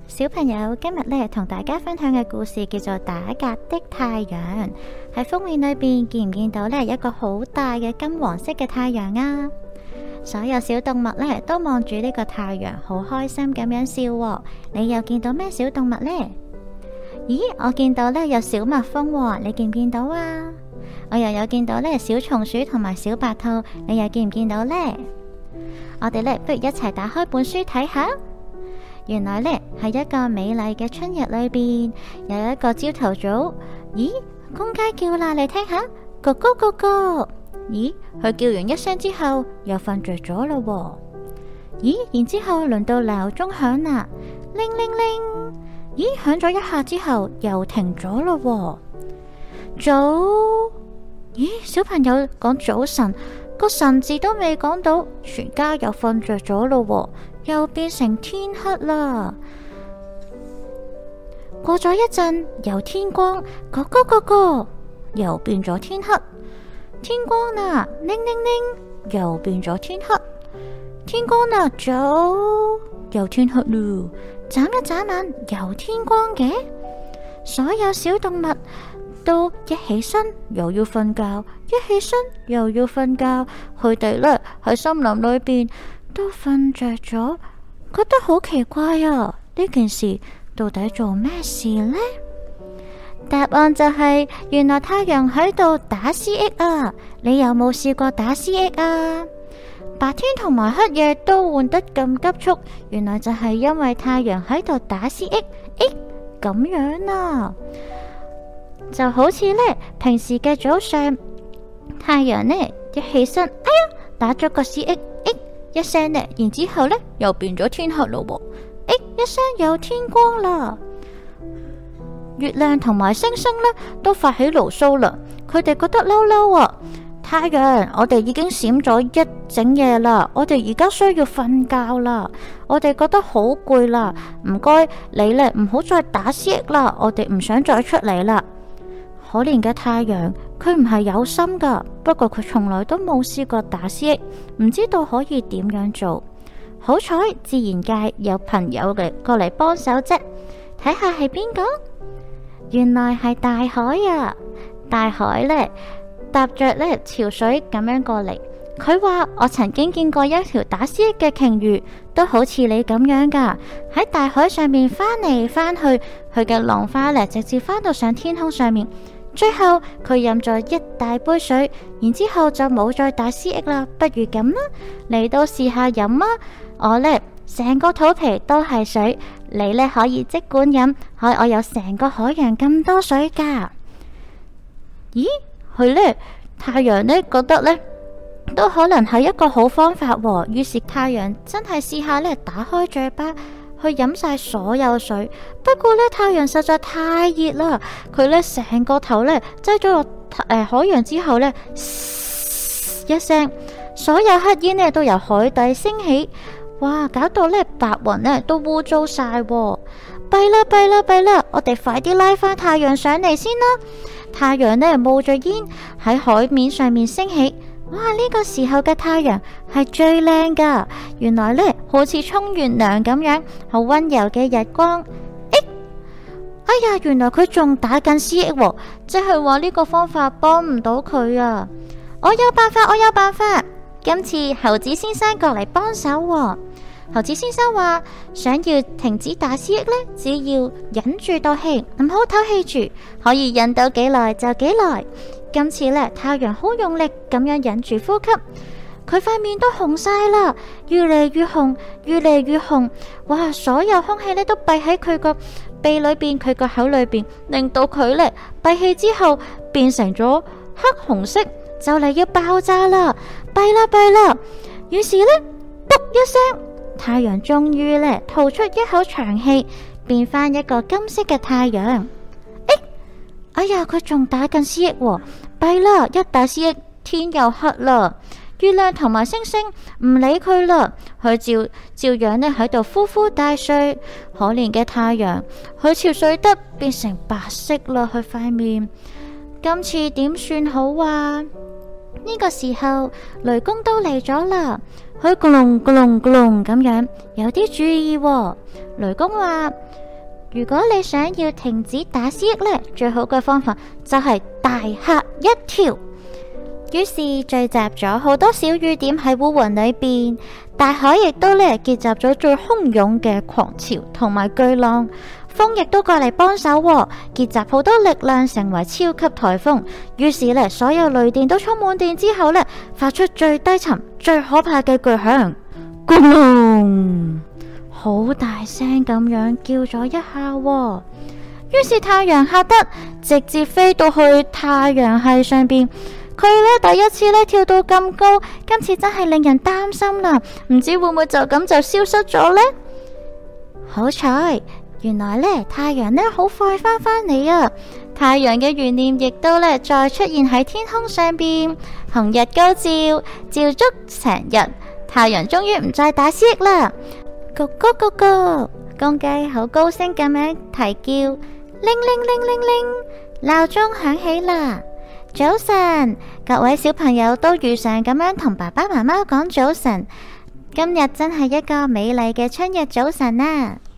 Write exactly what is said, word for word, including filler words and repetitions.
小朋友，今日咧同大家分享嘅故事叫做《打格的太陽》。喺封面裏邊見唔見到咧一個好大嘅金黃色嘅太陽啊？所有小動物咧都望住呢個太陽，好開心咁樣笑喎。你又見到咩小動物呢？咦，我見到咧有小蜜蜂喎，你見唔見到啊？我又有見到咧小松鼠同埋小白兔，你又見唔見到呢？我哋咧不如一齊打開本書睇下。原來呢係一個美麗嘅春日裏邊，有一個朝頭早，咦，公雞叫啦，你聽下，咕咕咕咕。咦，佢叫完一聲之後又瞓着咗咯。咦，然之後輪到鬧鐘響啦，鈴鈴鈴。咦，響咗一下之後又停咗咯。早，咦，小朋友講早晨，個晨字都未講到，全家又瞓着咗咯。又變成天黑啦。過咗一陣，由天光，嗰個嗰個又變咗天黑。天光啦，鈴鈴鈴，又變咗天黑。天光啦，早，又天黑咯。眨一眨眼，又天光嘅。所有小動物都一起身又要瞓覺，一起身又要瞓覺。佢哋呢喺森林裏邊都瞓着咗，覺得好奇怪啊！呢件事到底做咩事呢？答案就係、是、原來太陽喺度打 C X 啊！你有冇試過打 C X 啊？白天同埋黑夜都換得咁急速，原來就係因為太陽喺度打 C X， 誒，咁樣啊！就好似呢平時嘅早上，太陽呢一起身，哎呀，打咗個 C X。一聲呢，然之後呢又變咗天黑咯，誒，一聲又天光啦。月亮同埋星星呢都發起牢騷啦，佢哋覺得嬲嬲啊！太陽，我哋已經閃咗一整夜啦，我哋而家需要瞓覺啦，我哋覺得好攰啦，唔該你呢唔好再打 C X 啦，我哋唔想再出嚟啦。可憐嘅太陽，佢唔係有心噶，不過佢從來都冇試過打 C X， 唔知道可以點樣做。好彩自然界有朋友嚟過嚟幫手啫，睇下係邊個？原來係大海啊！大海呢，搭着呢潮水咁樣過嚟。佢話我曾經見過一條打 C X 嘅鯨魚，都好似你咁樣噶，喺大海上面翻嚟翻去，佢嘅浪花呢直接翻到上天空上面。最後佢飲咗一大杯水，然之後就冇再打 C X 啦。不如咁啦，你都試下飲啊！我呢成個肚皮都係水，你呢可以即管飲，我我有成個海洋咁多水噶。咦，佢呢太陽呢覺得呢都可能係一個好方法喎，於是太陽真係試下呢打開嘴巴去飲晒所有水，不過呢，太陽實在太熱啦，佢呢成個頭呢擠咗落誒海洋之後呢，一聲，所有黑煙呢都由海底升起，哇！搞到呢白雲呢都污糟晒，弊啦弊啦弊啦！我哋快啲拉翻太陽上嚟先啦！太陽呢冒着煙喺海面上面升起。哇！呢個時候嘅太陽係最靚噶，原來呢好似沖完涼咁樣，好溫柔嘅日光。誒，哎呀，原來佢仲打緊 C X 喎，即係話呢個方法幫唔到佢啊！我有辦法，我有辦法。今次猴子先生過嚟幫手喎。猴子先生話，想要停止打 C X 呢，只要忍住道氣，唔好唞氣住，可以忍到幾耐就幾耐。今次呢，太陽好用力咁樣忍住呼吸，佢塊面都紅晒啦，越嚟越紅，越嚟越紅。哇！所有空氣呢都閉喺佢個鼻裏邊，佢個口裏邊，令到佢呢閉氣之後變成咗黑紅色，就嚟要爆炸啦！弊啦弊啦！於是呢，噗一聲，太陽終於呢吐出一口長氣，變翻一個金色嘅太陽。哎呀，佢仲打緊 C X 喎，弊啦！一打 C X， 天又黑啦。月亮同埋星星唔理佢啦，佢照照樣呢喺度呼呼大睡。可憐嘅太陽，佢憔悴得變成白色啦，佢塊面。今次點算好啊？ 呢個時候，雷公都嚟咗啦，佢咕隆咕隆咕隆咁樣，有啲注意喎。雷公話：如果你想要停止打思噎呢，最好嘅方法就係大嚇一跳。於是聚集咗好多小雨點喺烏雲裏邊，大海亦都呢結集咗最洶湧嘅狂潮同埋巨浪，風亦都過嚟幫手，結集好多力量成為超級颱風。於是呢，所有雷電都充滿電之後呢，發出最低沉、最可怕嘅巨響，咕隆，好大聲咁樣叫咗一下。於是太陽嚇得直接飛到去太陽系上邊。佢呢第一次呢跳到咁高，今次真係令人擔心啦，唔知會唔會就咁就消失咗呢？好彩，原來呢太陽呢好快返返嚟啊！太陽嘅懸念亦都呢再出現喺天空上邊，紅日高照，照足成日，太陽終於唔再打思噎啦！咕咕咕咕，公雞好高聲咁樣啼叫，鈴鈴鈴鈴鈴，鬧鐘響起啦！早晨，各位小朋友都如常咁樣同爸爸媽媽講早晨。今日真係一個美麗嘅春日早晨啊！